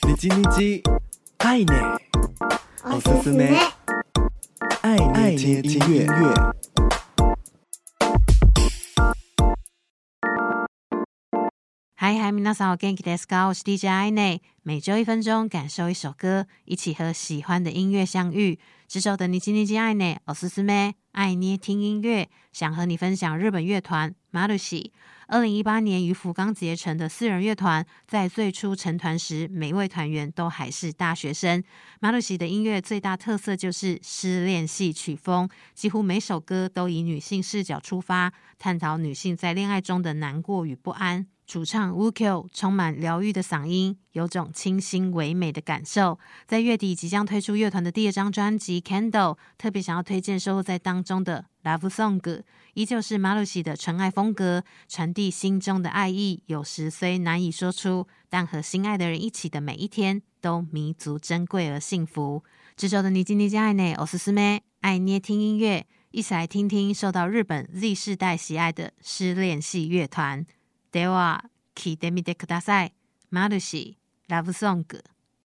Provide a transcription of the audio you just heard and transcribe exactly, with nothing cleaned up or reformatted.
你嘰你嘰，愛呢，おすすめ，愛愛聽音樂。 嗨嗨，皆さんお元気ですか？我是 D J 愛呢，每周一分鐘，感受一首歌，一起和喜歡的音樂相遇。這周的你嘰你嘰愛呢，おすすめ，愛捏聽音樂，想和你分享日本樂團マルシ。二零一八年於福岡結成的四人樂團，在最初成團時，每位團員都還是大學生。マルシ的音樂最大特色就是失戀系曲風，幾乎每首歌都以女性視角出發，探討女性在戀愛中的難過與不安。主唱 Wukyo 充滿療癒的嗓音，有種清新唯美的感受。在月底即將推出樂團的第二張專輯 Candle， 特別想要推薦收錄在當中的 Love Song， 依舊是マルシ的純愛風格，傳遞心中的愛意，有時雖難以說出，但和心愛的人一起的每一天都彌足珍貴而幸福。這週的你嘰你嘰愛呢，おすすめ，愛捏聽音樂，一起來聽聽受到日本 Z 世代喜愛的失戀系樂團。では、聞いてみてください。マルシ、ラブソング。